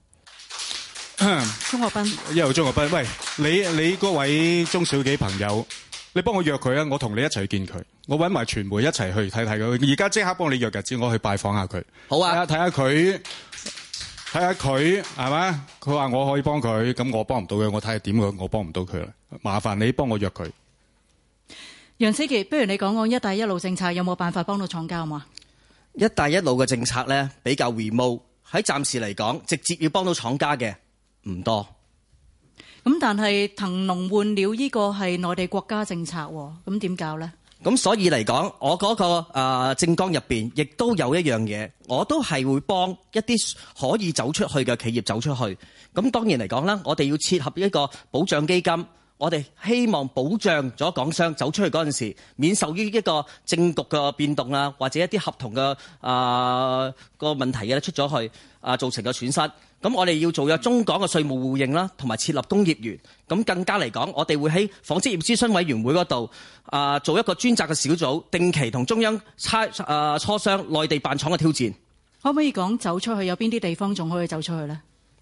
鍾國斌， 一號鍾國斌，喂，你你嗰位中小企朋友，你幫我約佢啊！我同你一齊去見佢，我揾埋傳媒一齊去睇睇佢。而家即刻幫你約日子，我去拜訪下佢。 好啊， 睇下佢，睇下佢係嘛？佢話我可以幫佢，咁我幫唔到佢，我睇下點佢，我幫唔到佢啦。麻煩你幫我約佢。 楊思傑，不如你講講一帶一路政策有冇辦法幫到廠家嘛？ 一帶一路嘅政策咧比較 remote， 喺暫時嚟講，直接要幫到廠家嘅唔多。 咁但係騰籠換鳥呢個係內地國家政策，咁點搞呢？ 咁所以嚟講，我嗰、那個誒、呃、政綱入邊，亦都有一樣嘢，我都係會幫一啲可以走出去嘅企業走出去。咁當然嚟講啦，我哋要切合一個保障基金，我哋希望保障咗港商走出去嗰陣時，免受於一個政局嘅變動啊，或者一啲合同嘅啊個問題嘅出咗去啊、呃、造成嘅損失。咁我哋要做有中港嘅稅務互認啦，同埋設立工業園。咁更加嚟講，我哋會喺紡織業諮詢委員會嗰度啊，做一個專責嘅小組，定期同中央差啊磋商內地辦廠嘅挑戰。 可唔可以講走出去有邊啲地方仲可以走出去呢？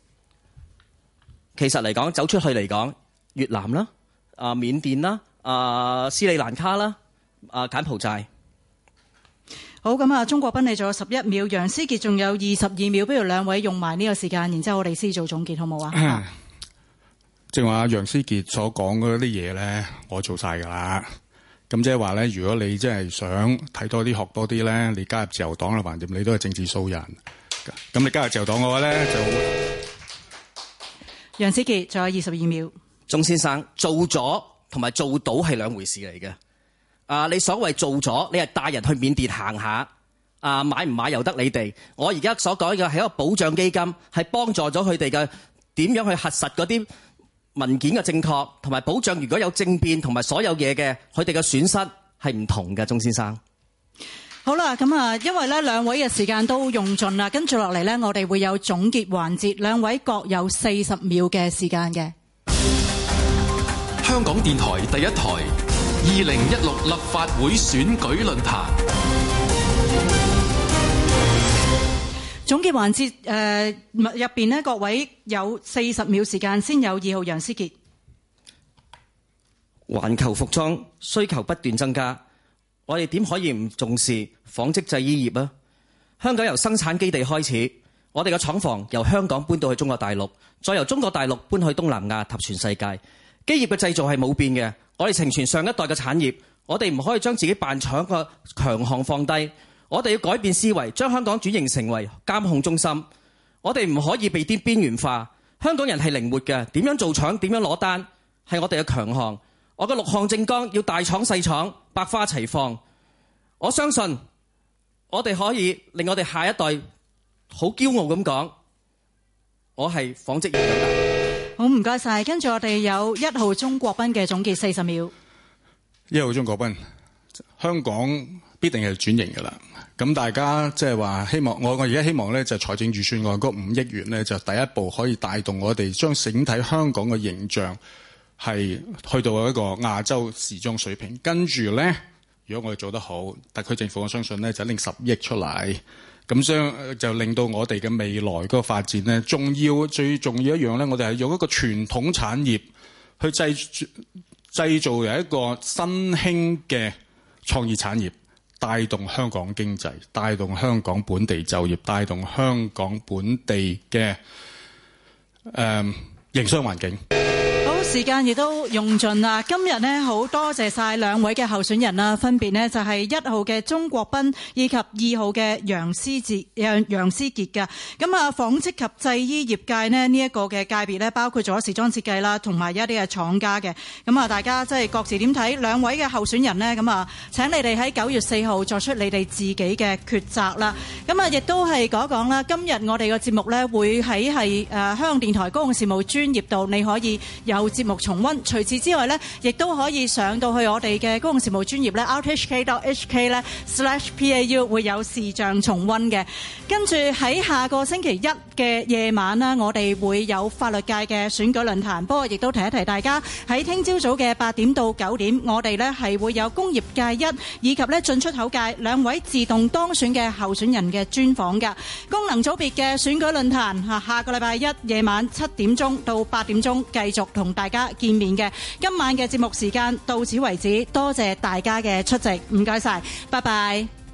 其實嚟講，走出去嚟講，越南啦、啊緬甸啦、啊斯里蘭卡啦、啊柬埔寨。 好，咁啊，鍾國斌你仲有十一秒，楊思傑仲有二十二秒，不如兩位用埋呢個時間，然之後我哋先做總結，好唔好啊？ 正話楊思傑所講嗰啲嘢咧，我做晒㗎啦。咁即係話咧，如果你真係想睇多啲、學多啲咧，你加入自由黨啦，橫掂你都係政治素人。咁你加入自由黨嘅話咧，就楊思傑仲有二十二秒。 鍾先生做咗同埋做到係兩回事嚟嘅。啊！你所謂做咗，你係帶人去緬甸行下，啊買唔買由得你哋。我而家所講嘅係一個保障基金，係幫助咗佢哋嘅點樣去核實嗰啲文件嘅正確，同埋保障如果有政變同埋所有嘢嘅，佢哋嘅損失係唔同嘅。鍾先生， 好啦，咁啊，因為咧兩位嘅時間都用盡啦，跟住落嚟咧，我哋會有總結環節，兩位各有四十秒嘅時間嘅。 香港電台第一台。二零一六立法會選舉論壇總結環節誒入邊呢，各位有四十秒時間，先有二號楊思傑。 環球服裝需求不斷增加，我哋點可以唔重視紡織製衣業啊？香港由生產基地開始，我哋嘅廠房由香港搬到去中國大陸，再由中國大陸搬去東南亞及全世界。基業嘅製造係冇變嘅。我哋承傳上一代嘅產業，我哋唔可以將自己辦廠嘅強項放低，我哋要改變思維，將香港轉型成為監控中心。我哋唔可以被啲邊緣化。香港人係靈活嘅，點樣做廠，點樣攞單，係我哋嘅強項。我嘅六項政綱要大廠細廠百花齊放。 我相信我哋可以令我哋下一代好驕傲咁講，我係紡織業長大。 好，唔該晒。跟住我哋有一號鍾國斌嘅總結四十秒。 一號鍾國斌，香港必定係轉型㗎啦。咁大家即係話希望，我我而家希望咧就財政預算案嗰五億元咧就第一步可以帶動我哋將整體香港嘅形象係去到一個亞洲時裝水平。跟住咧，如果我哋做得好，特區政府我相信咧就拎十億出嚟，咁將就令到我哋嘅未來嗰個發展咧，仲要最重要一樣咧，我哋係用一個傳統產業去製製造有一個新興嘅創意產業。帶動香港經濟，帶動香港本地就業，帶動香港本地嘅誒營商環境。 好，時間亦都用盡啦。今日呢，好多謝晒兩位嘅候選人啦，分別呢就係一號嘅鍾國斌以及二號嘅楊思傑楊楊思傑嘅。咁啊，紡織及製衣業界呢，呢一個嘅界別呢，包括咗時裝設計啦，同埋一啲嘅廠家嘅。咁啊，大家即係各自點睇兩位嘅候選人呢？咁啊，請你哋喺九月四號作出你哋自己嘅抉擇啦。咁啊，亦都係講一講啦。今日我哋嘅節目呢，會喺係誒香港電台公共事務專頁度，你可以有節目重溫。除此之外呢，亦都可以上到去我哋嘅公共事務專頁呢 r t h k dot h k 呢 slash p a u 會有視像重溫嘅。跟住喺下個星期一嘅夜晚呢，我哋會有法律界嘅選舉論壇。不過亦都提一提大家，喺聽朝早嘅八點到九點，我哋呢係會有工業界一以及呢進出口界兩位自動當選嘅候選人嘅專訪㗎。功能組別嘅選舉論壇下下個禮拜一夜晚七點鐘到八點鐘繼續同大家見面嘅。今晚嘅節目時間到此為止，多謝大家嘅出席，唔該晒，拜拜。